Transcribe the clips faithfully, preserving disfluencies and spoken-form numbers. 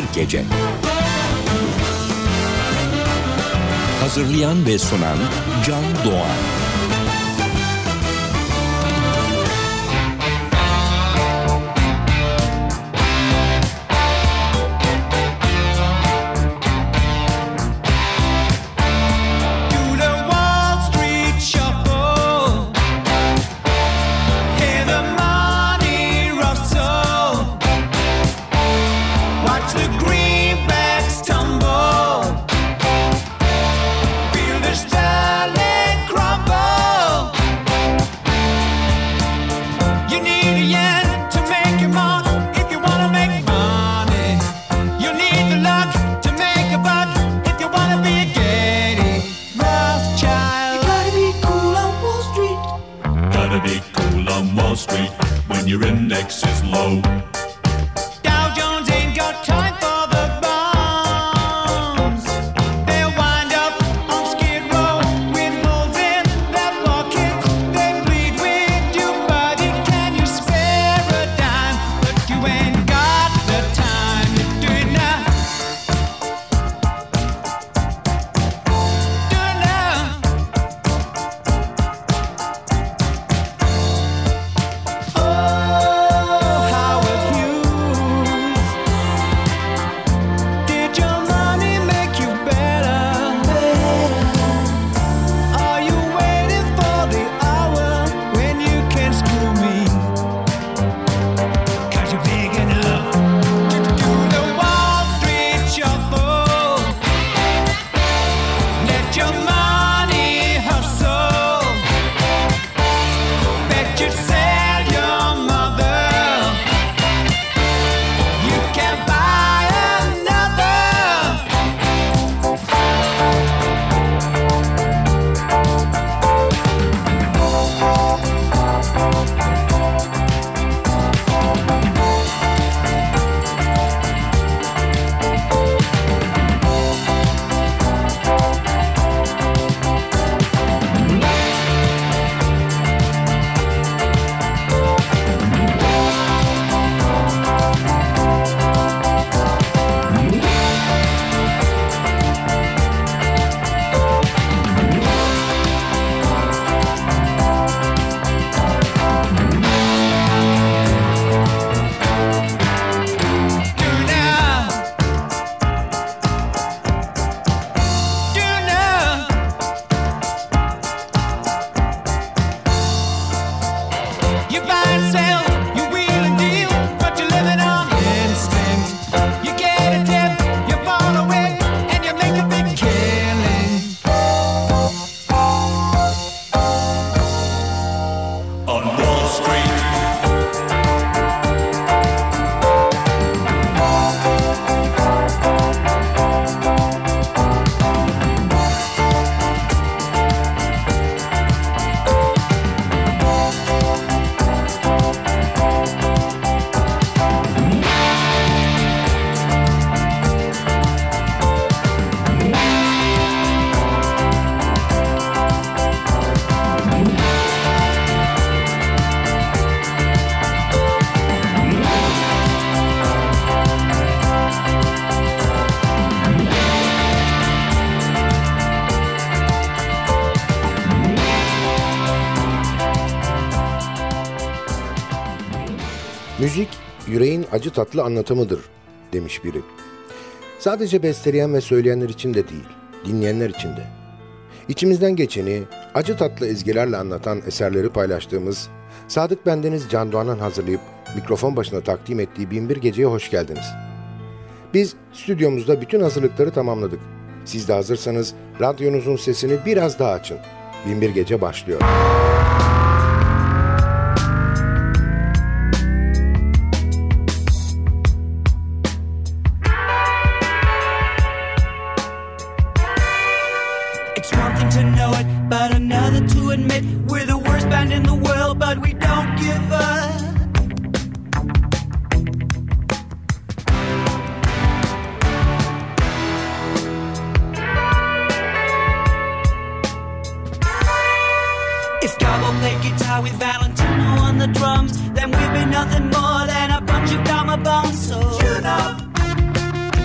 Binbir Gece. Hazırlayan ve sunan Can Doğan. Müzik, yüreğin acı tatlı anlatımıdır demiş biri. Sadece besteleyen ve söyleyenler için de değil, dinleyenler için de. İçimizden geçeni acı tatlı ezgilerle anlatan eserleri paylaştığımız Sadık Bendeniz Can Doğan'ın hazırlayıp mikrofon başına takdim ettiği Binbir Gece'ye hoş geldiniz. Biz stüdyomuzda bütün hazırlıkları tamamladık. Siz de hazırsanız radyonuzun sesini biraz daha açın. Binbir Gece başlıyor. It's one thing to know it, but another to admit we're the worst band in the world, but we don't give up. If Gabo played guitar with Valentino on the drums, then we'd be nothing more than a bunch of gamma bombs. So tune up,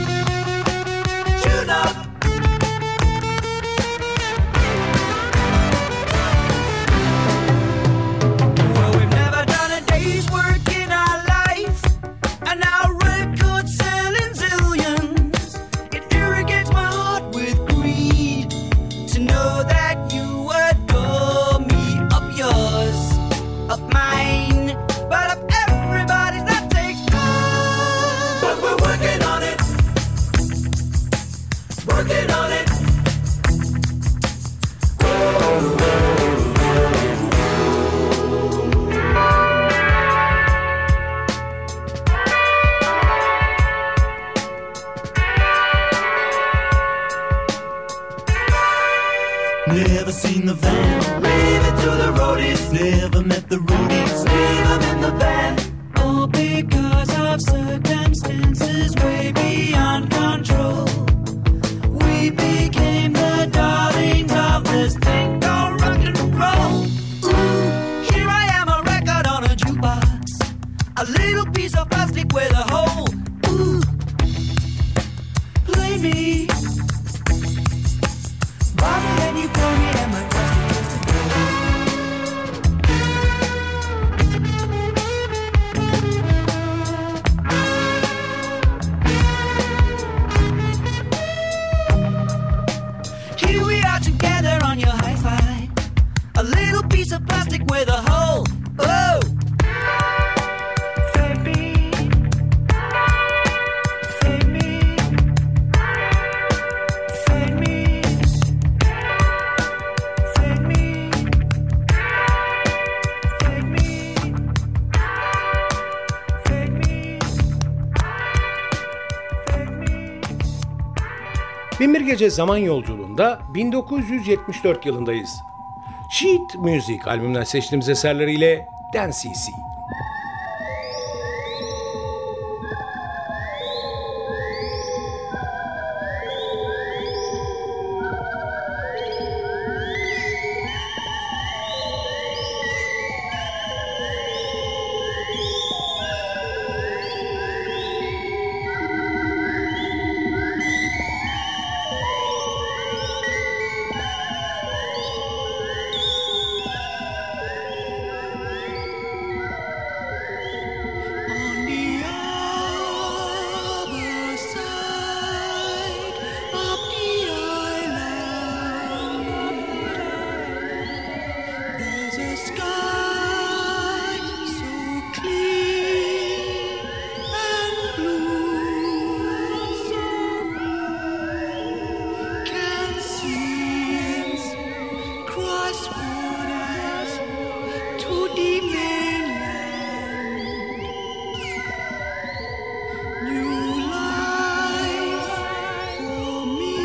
A little piece of plastic with a hole. Ooh. Play me. Bobby, then you play me and my plastic is to go. Here we are together on your hi-fi. A little piece of plastic with a hole. Oh! Save me. Save me. Save me. Save me. Save me. Save me. Save me. Binbir Gece Zaman Yolculuğunda bin dokuz yüz yetmiş dört yılındayız. Sheet Music albümünden seçtiğimiz eserleriyle Dance C C. On the other side of the island, there's a sky so clear and blue, so blue, can see cross waters to the mainland. New life for me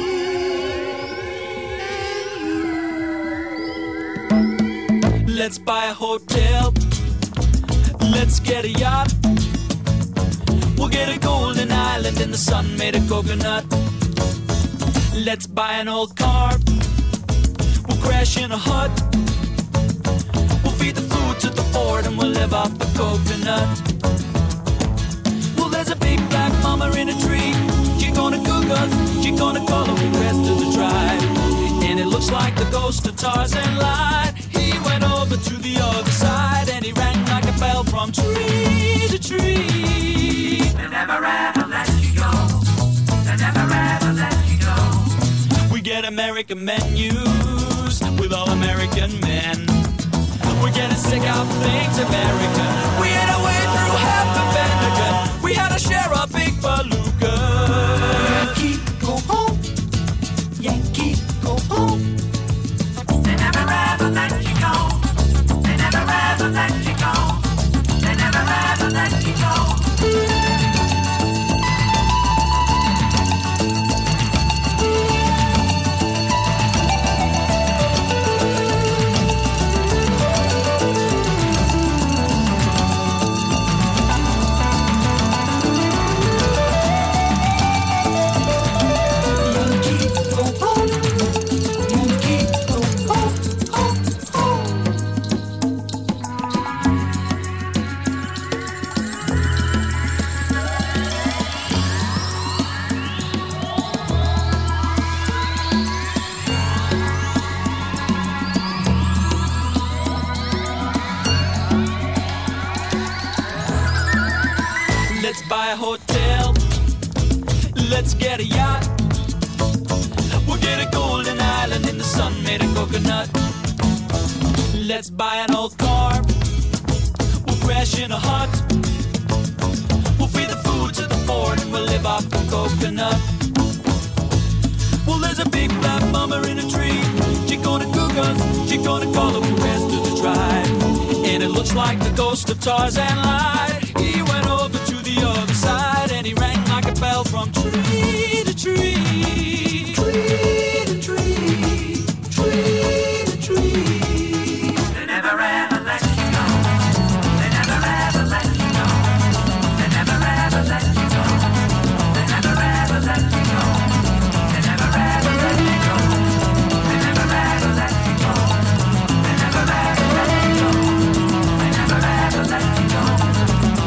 and you. Let's buy a hotel. Let's get a yacht. We'll get a golden island in the sun made of coconut. Let's buy an old car. We'll crash in a hut. We'll feed the food to the fort and we'll live off the coconut. Well, there's a big black mama in a tree. She gonna cook us. She gonna call the rest of the tribe. And it looks like the ghost of Tarzan lied. He went over to the other side and he rang like a bell from tree to tree. They never ever let you go. They never ever let you go. We get American menus with all American men. We're getting sick of things American. We had a way through half the Pentagon. We had a share of big beluga. Yankee, go home. Yankee, go home. They never ever let you go. They never ever let you go. They never ever let you go. Yankee, go home. Yankee, go home, home, home. Let's buy a hotel. Let's get a yacht. We'll get a golden island in the sun made of coconut. Let's buy an old car. We'll crash in a hut. We'll feed the food to the fort and we'll live off the coconut. Well, there's a big black mama in a tree. She gonna cook us. She gonna call the rest of the tribe. And it looks like the ghost of Tarzan lied. He went over to the other side and he rang like a bell from tree to tree. Tree to tree. Tree to tree. They never ever let you go. They never ever let you go. They never ever let you go. They never ever let you go. They never ever let you go. They never ever let you go. They never ever let you go. They never ever let you go.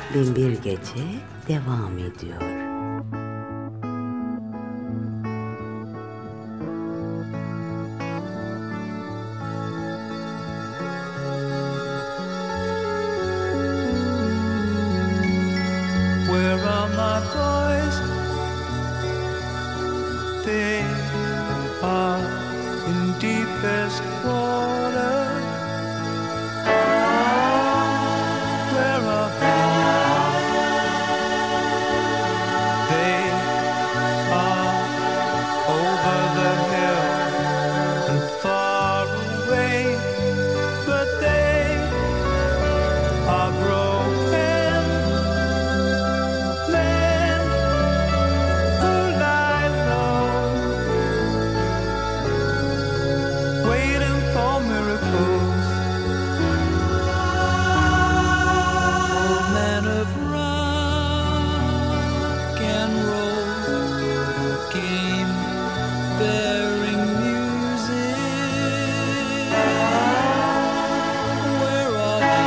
Binbir Gece devam ediyor. Where are my boys? They are in deepest water. Where are they now? They are over the hill and far away, but they are broken men who lie low, waiting for miracles. Old men of rock and roll came bearing music. Where are they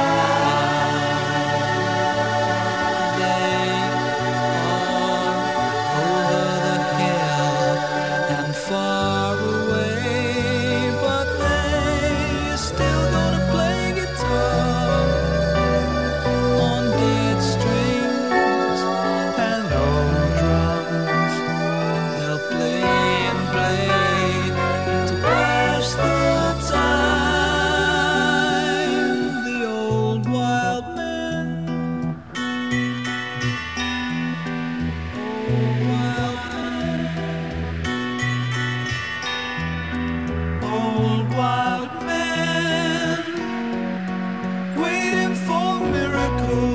now? They are over the hill and far away, but they still gonna play guitar on dead strings and old drums. They'll play and play to pass the time. The old wild men, old wild men, old wild men, waiting for miracles.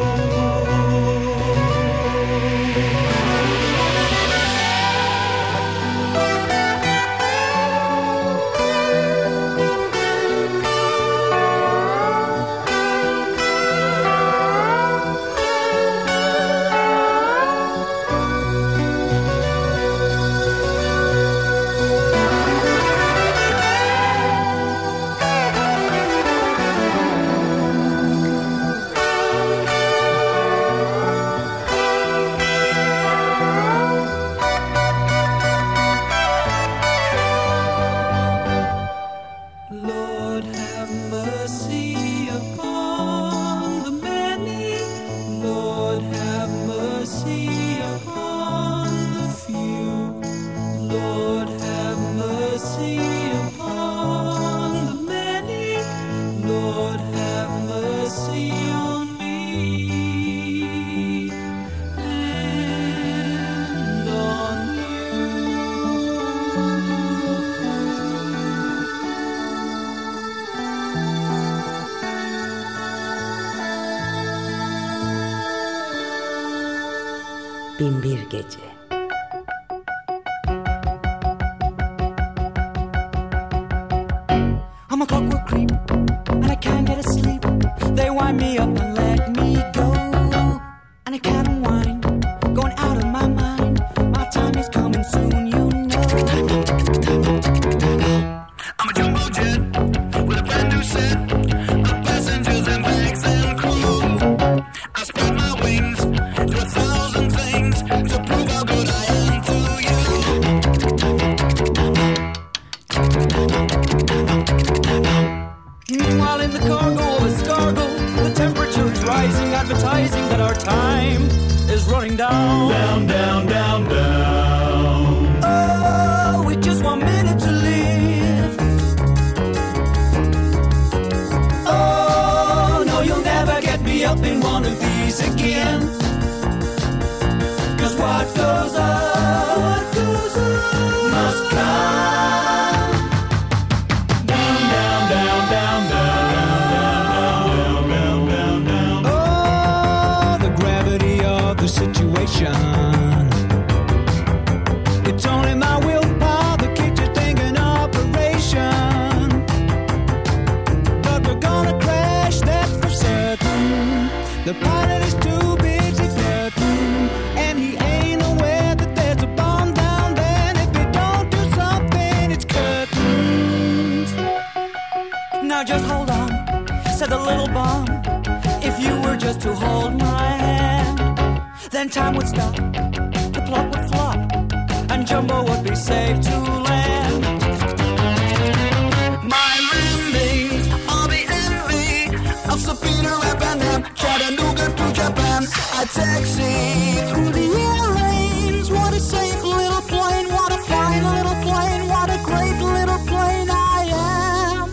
Lord, have mercy upon the many. Lord, have mercy upon the few. Lord, have mercy upon the many. Lord, have mercy on me and on you. Binbir Gece. I'm a clockwork creep, and I can't get asleep. They wind me up and let me go, and I can't unwind, going out of my mind. My time is coming soon, you know. I'm a jumbo jet with a brand new set of passengers and bags and crew. I spread my wings to a thousand things to prove how good I am to you. Meanwhile, in the cargo of a Scargo, the temperature is rising, advertising that our time is running down. Down, down, down, down. Oh, with just one minute to live. Oh, no, you'll never get me up in one of these again. Cause what goes up, what goes up must come. Down, down, down, down, down, down, down, down, down, down. Oh, the gravity of the situation. It's only my willpower that keeps this thing in operation. But we're gonna crash, that's for certain. The pilot is too busy flirting, and he ain't aware that there's a bomb down there. And if we don't do something, it's curtains. Now just hold on, said the little bomb. If you were just to hold my then time would stop, the plot would flop, and Jumbo would be safe to land. My roommates, all the envy of Sir Peter and them, Chattanooga to Japan. I taxi through the airlanes. What a safe little plane, what a fine little plane, what a great little plane I am.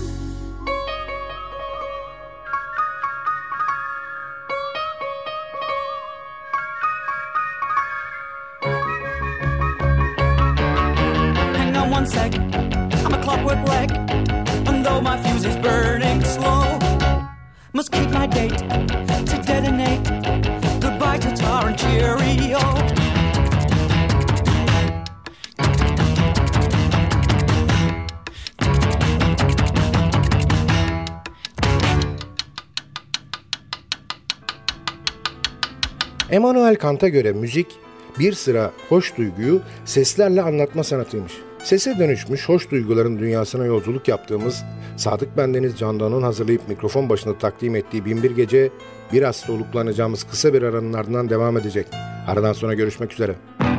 Hang on one sec, I'm a clockwork wreck, and though my fuse is burning slow, must keep my date to detonate. Goodbye to tar and cheerio. Immanuel Kant'a göre müzik bir sıra hoş duyguyu seslerle anlatma sanatıymış. Sese dönüşmüş hoş duyguların dünyasına yolculuk yaptığımız Sadık Bendeniz Can Doğan'ın hazırlayıp mikrofon başında takdim ettiği Binbir Gece biraz soluklanacağımız kısa bir aranın ardından devam edecek. Aradan sonra görüşmek üzere.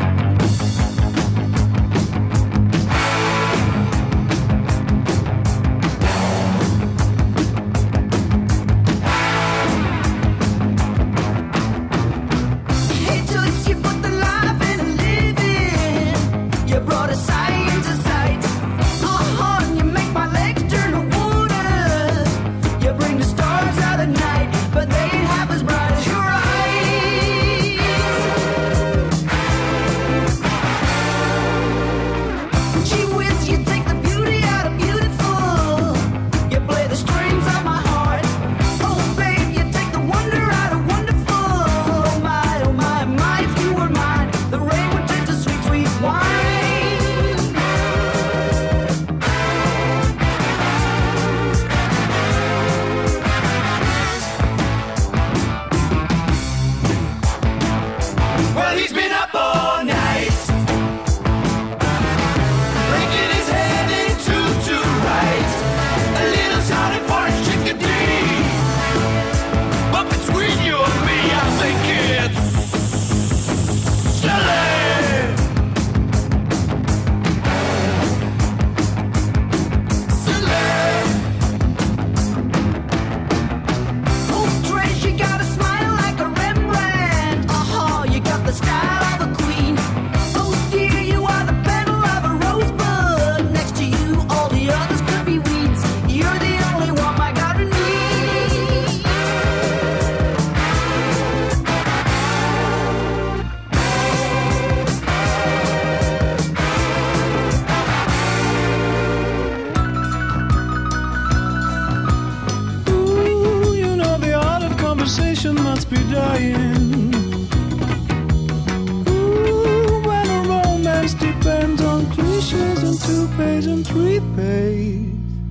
Must be dying. Ooh, when a romance depends on cliches and two pays and three pays.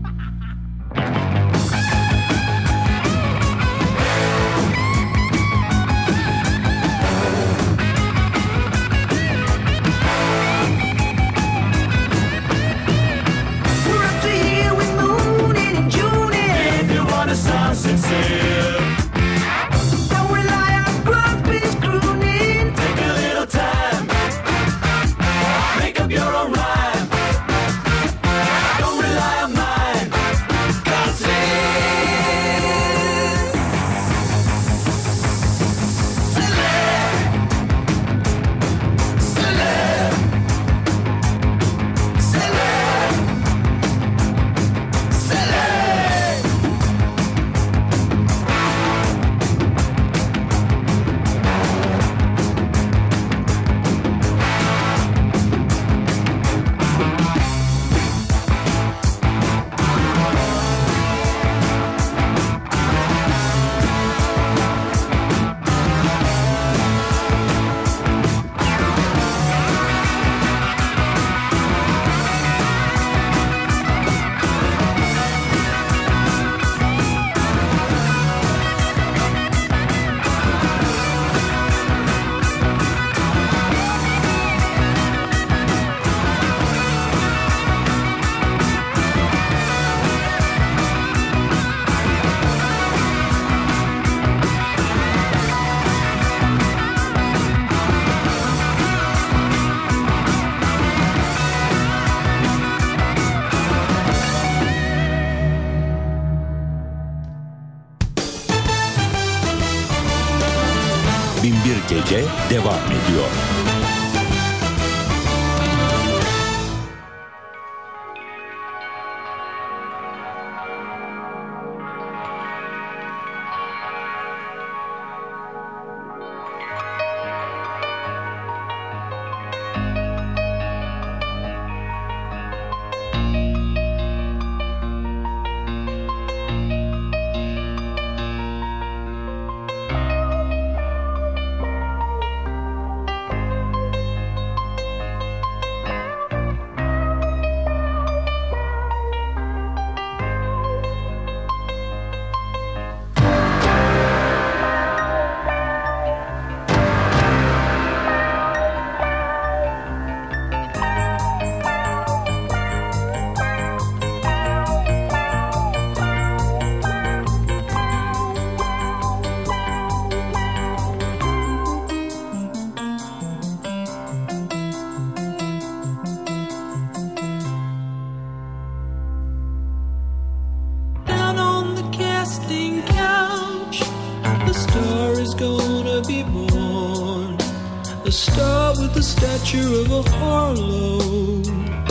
We're up to here with moon in June. If you want a song sincere, Binbir Gece devam ediyor. A star with the stature of a Harlow,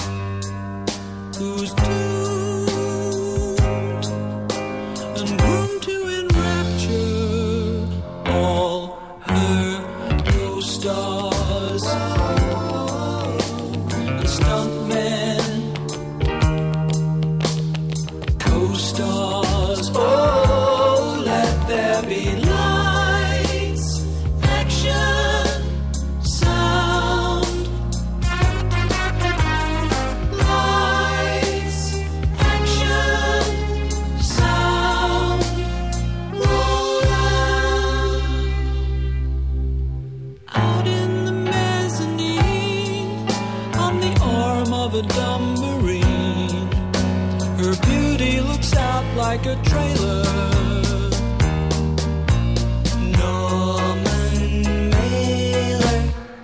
who's doomed and groomed to enrapture all her co-stars and stuntmen, co-stars. Oh, let there be lights, action, sound, lights, action, sound, roll down. Out in the mezzanine, on the arm of a dumbarine, her beauty looks out like a trailer. Norman Mailer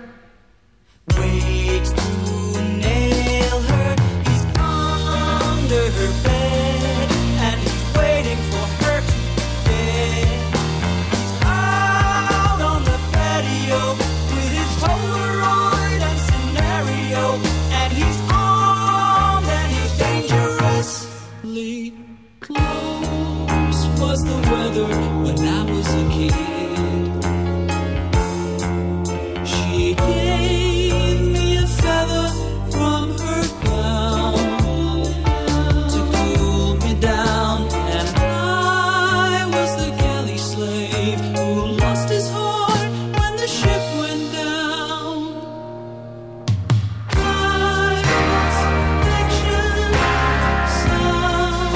waits to nail her. He's under her bed and he's waiting for her to bed. He's out on the patio with his Polaroid and scenario, and he's armed and he's dangerously close. Was the weather when I was a kid? She gave me a feather from her gown to cool me down, and I was the galley slave who lost his heart when the ship went down. Lights, action, sound.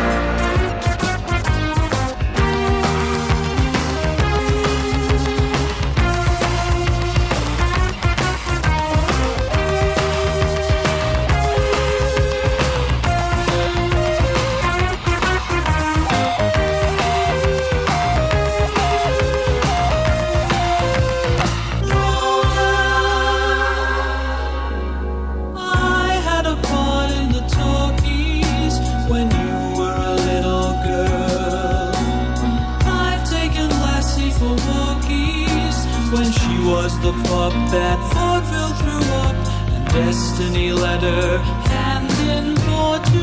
I had a part in the talkies when you were a little girl. I've taken Lassie for walkies when she was the pup that vaudeville threw up, and destiny led her hand in paw to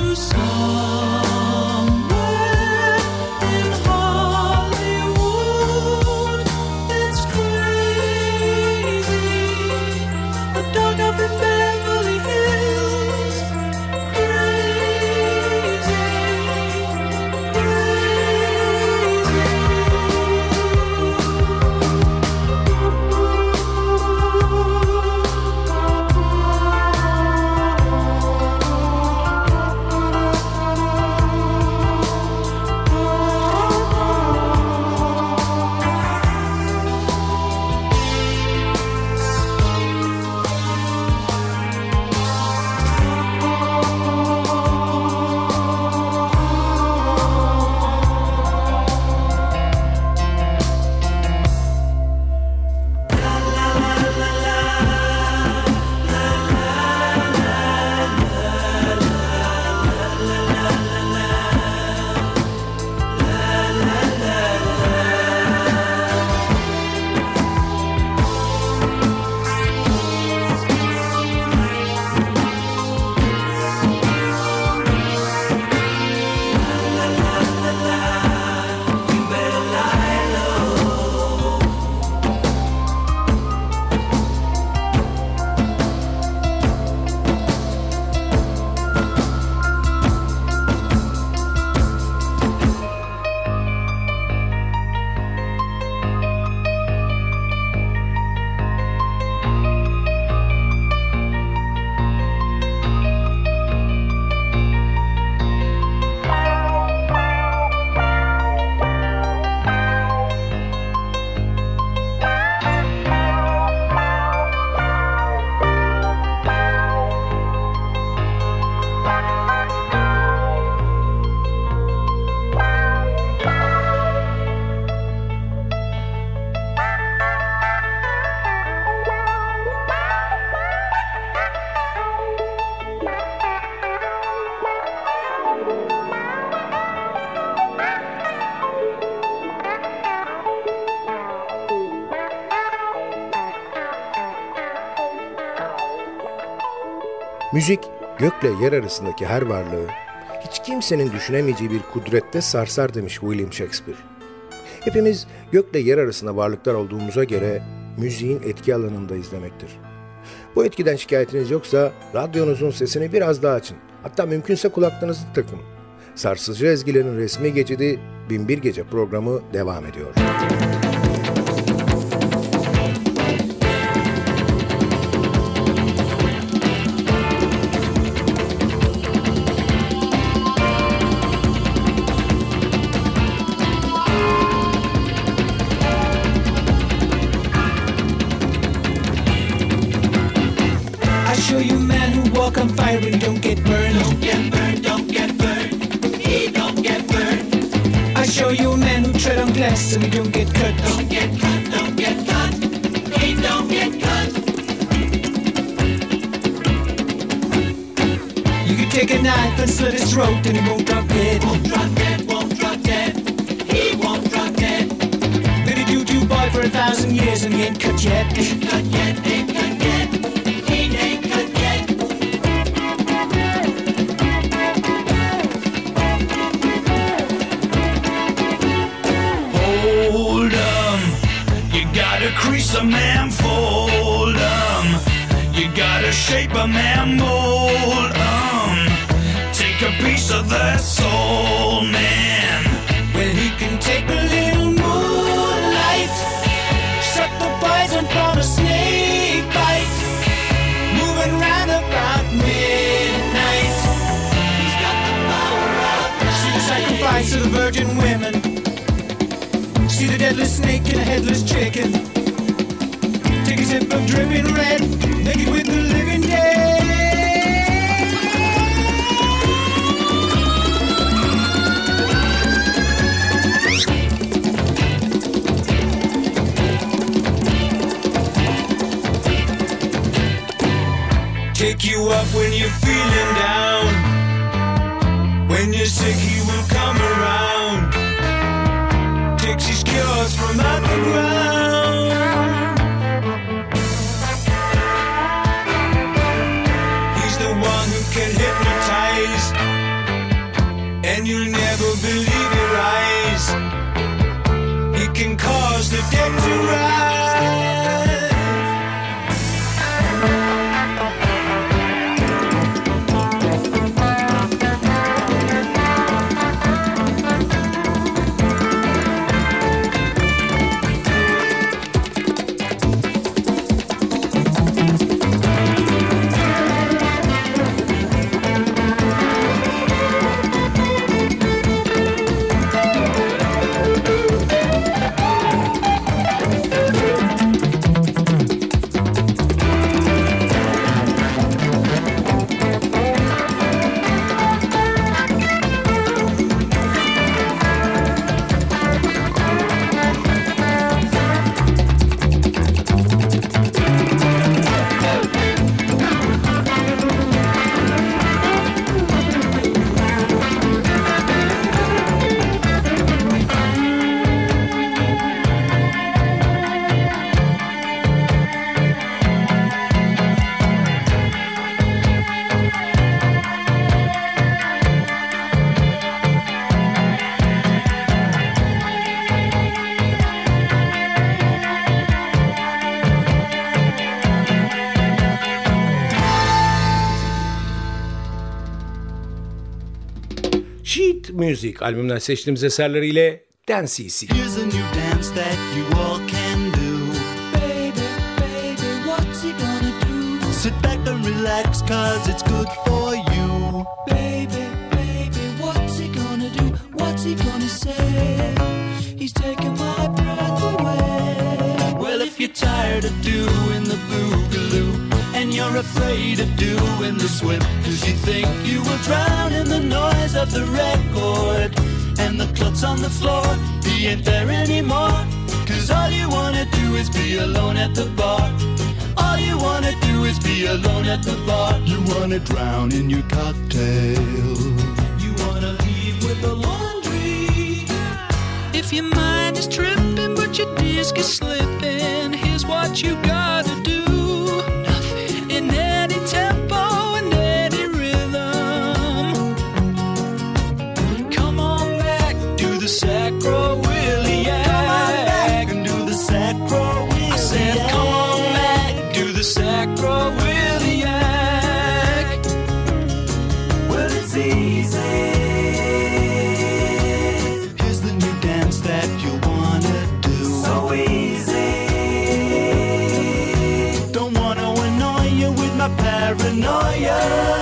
somewhere in Hollywood. It's crazy, a dog up in Beverly Hills. Crazy, crazy. Müzik, gökle yer arasındaki her varlığı, hiç kimsenin düşünemeyeceği bir kudrette sarsar demiş William Shakespeare. Hepimiz gökle yer arasında varlıklar olduğumuza göre müziğin etki alanındayız demektir. Bu etkiden şikayetiniz yoksa radyonuzun sesini biraz daha açın. Hatta mümkünse kulaklarınızı takın. Sarsıcı ezgilerin resmi geçidi Binbir Gece programı devam ediyor. Show you men who walk on fire and don't get burned. Don't get burned, don't get burned. He don't get burned. I show you men who tread on glass and don't get cut. Don't get cut, don't get cut. He don't get cut. You can take a knife and slit his throat and he won't drop dead. Won't drop dead, won't drop dead. He won't drop dead. Been a doo-doo boy for a thousand years and he ain't cut yet. Ain't cut yet, ain't cut yet. Crease a man, fold 'em. You gotta shape a man, mold 'em. Take a piece of their soul, man. Well, he can take a little moonlight, suck the poison from a snake bite, moving round about midnight. He's got the power of see the sacrifice of the virgin women. See the deadly snake and a headless chicken. Take a sip of dripping red, make it with the living dead. Take you up when you're feeling down. When you're sick, he will come around. Takes his cures from out the ground. He's the one who can hypnotize, and you'll never believe your eyes. He can cause the dead to rise. Sheet Music albümünden seçtiğimiz eserleriyle Dance Easy. Here's a new dance that you all can do. Baby, baby, what's he gonna do? Sit back and relax, cause it's good for you. Baby, baby, what's he gonna do? What's he gonna say? He's taking my breath away. Well, if you're tired of doing the boogaloo, and you're afraid of doing the swim, cause you think you will drown in the noise of the record, and the klutz on the floor, he ain't there anymore. Cause all you wanna do is be alone at the bar. All you wanna do is be alone at the bar. You wanna drown in your cocktail. You wanna leave with the laundry. If your mind is tripping but your disc is slipping, here's what you gotta do. Nothing. In any tempo and paranoia.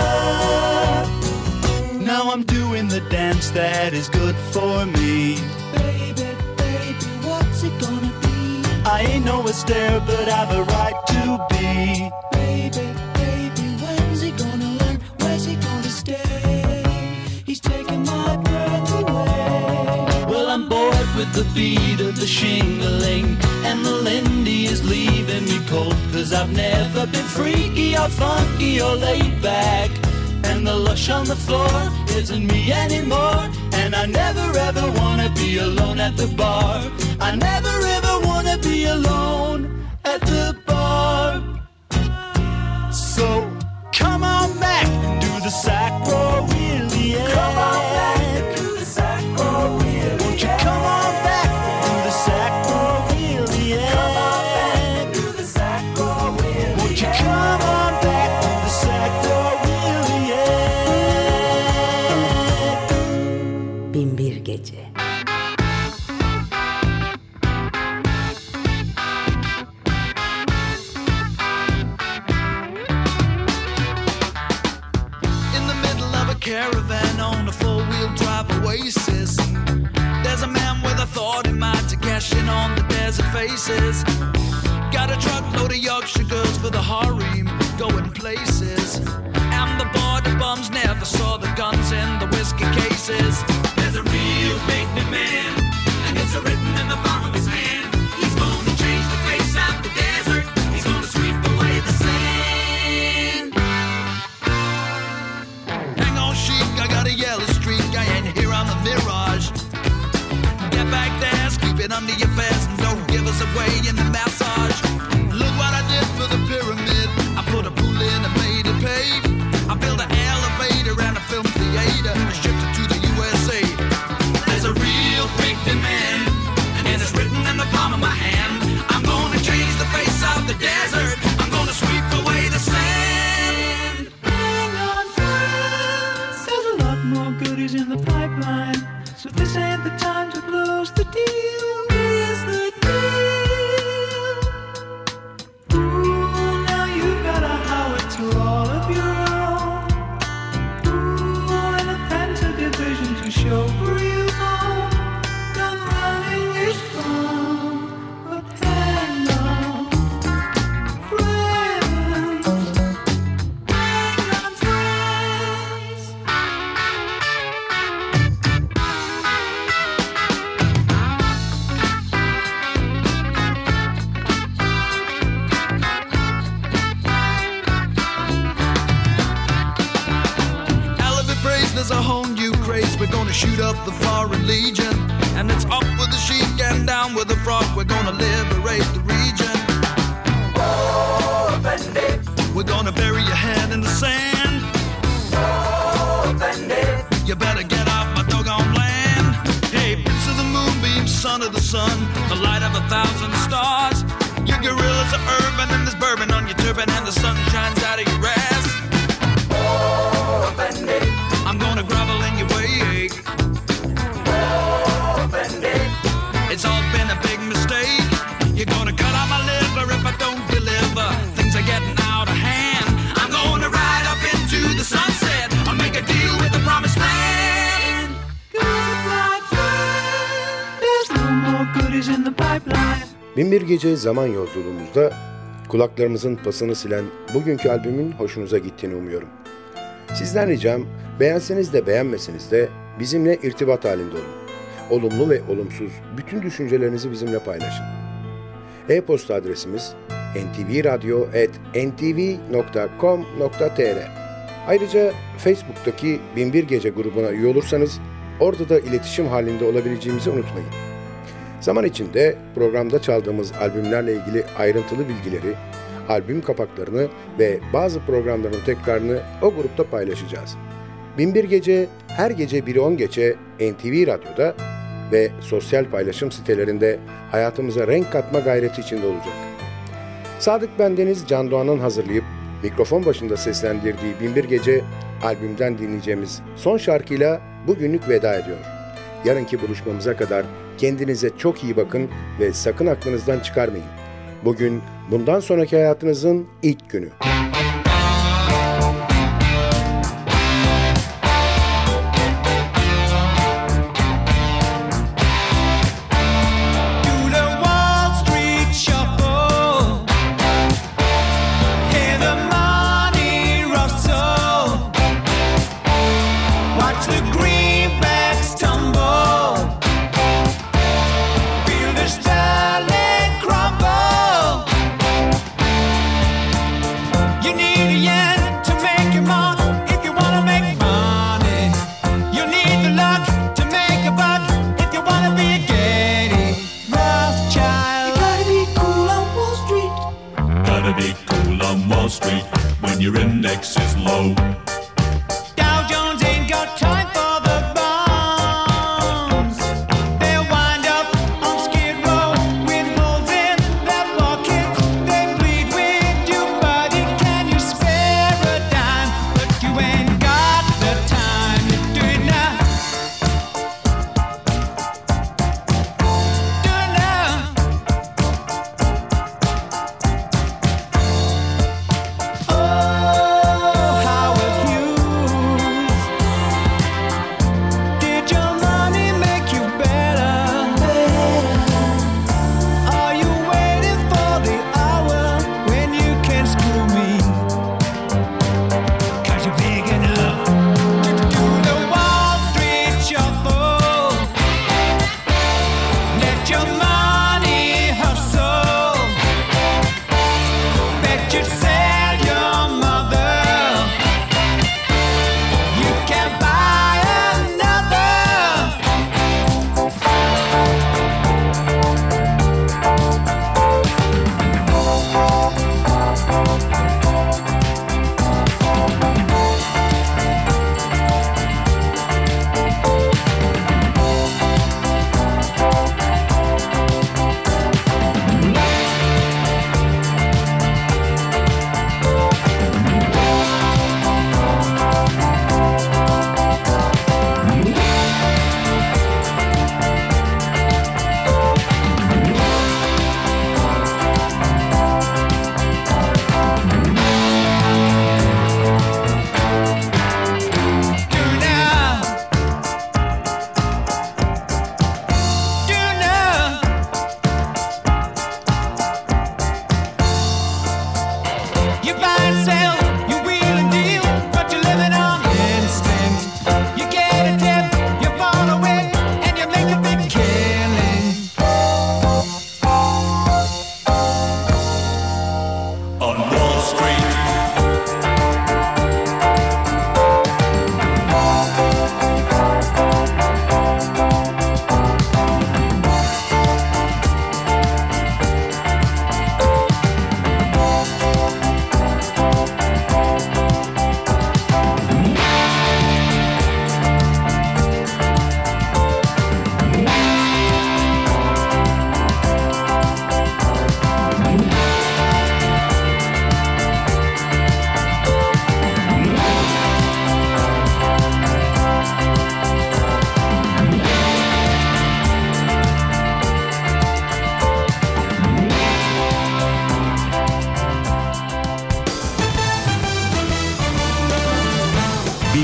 Now I'm doing the dance that is good for me. Baby, baby, what's it gonna be? I ain't no Astaire, but I've a right to be. Baby, baby, when's he gonna learn? Where's he gonna stay? He's taking my breath away. Well, I'm bored with the beat of the shingling, and the Lindy is leaving me cold, 'cause I've never been freaky or funky or laid back. And the lush on the floor isn't me anymore. And I never ever wanna be alone at the bar. I never ever wanna be alone at the bar. So come on back and do the sacroiliac. Come on back and do the sacroiliac. Won't you come on back and do the sacroiliac? Come on back and do the sacroiliac. Won't you come on back and do the sacroiliac? Binbir Gece. Caravan on a four-wheel drive oasis. There's a man with a thought in mind to cash in on the desert faces. Got a truckload of Yorkshire girls for the harem, going places. And the border bums never saw the guns in the whiskey cases. There's a real big man, and it's written in the palm of his hand. He's gonna change the face of the desert. He's gonna sweep away the sand. Hang on, sheep, I got a yellow streak. I ain't here on the Mirage. Get back there, keep it under your vest, and don't give us away in the massage. Look what I did for the pyramid. I put a pool in and made it pave. I built an elevator and a film theater and shipped it to the U S A. There's a real big demand, and it's written in the palm of my hand. I'm gonna change the face of the desert. I'm gonna sweep away the sand. Hang on, friends. There's a lot more goodies in the pipeline, so this ain't the time to close the deal. Here's the deal. Ooh, now you've got a howitzer all of your own. Ooh, and a Panther division to show for you home. Gun running is fun, but hang on, friends. Hang on, friends. Elephant praise, there's a whole new craze. We're gonna shoot up the foreign legion, and it's up with the sheep and down with the frog. We're gonna liberate the region. Oh, bandit. We're gonna bury your head in the sand. Oh, bandit. You better get off my doggone land. Hey, prince of the moonbeam, son of the sun, the light of a thousand stars. Your gorillas are urban, and there's bourbon on your turban, and the sun shines out of your ass. Oh, bandit. I'm gonna grovel in your way. Oh, bandit. It's all been a big mistake. You're gonna cut out my liver if I don't deliver. Things are getting out of hand. I'm gonna ride up into the sunset. I'll make a deal with the promised land. Goodbye, friend. There's no more goodies in the pipeline. Binbir Gece zaman yolculuğumuzda kulaklarımızın pasını silen bugünkü albümün hoşunuza gittiğini umuyorum. Sizden ricam, beğenseniz de beğenmeseniz de bizimle irtibat halinde olun. Olumlu ve olumsuz bütün düşüncelerinizi bizimle paylaşın. E-posta adresimiz en ti vi radyo at en ti vi nokta com nokta te er. Ayrıca Facebook'taki Binbir Gece grubuna üye olursanız orada da iletişim halinde olabileceğimizi unutmayın. Zaman içinde programda çaldığımız albümlerle ilgili ayrıntılı bilgileri, albüm kapaklarını ve bazı programların tekrarını o grupta paylaşacağız. Binbir Gece her gece biri on geçe N T V Radyo'da ve sosyal paylaşım sitelerinde hayatımıza renk katma gayreti içinde olacak. Sadık Bendeniz Can Doğan'ın hazırlayıp mikrofon başında seslendirdiği Binbir Gece albümden dinleyeceğimiz son şarkıyla bugünlük veda ediyor. Yarınki buluşmamıza kadar kendinize çok iyi bakın ve sakın aklınızdan çıkarmayın. Bugün bundan sonraki hayatınızın ilk günü.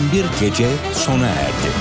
Binbir Gece sona erdi.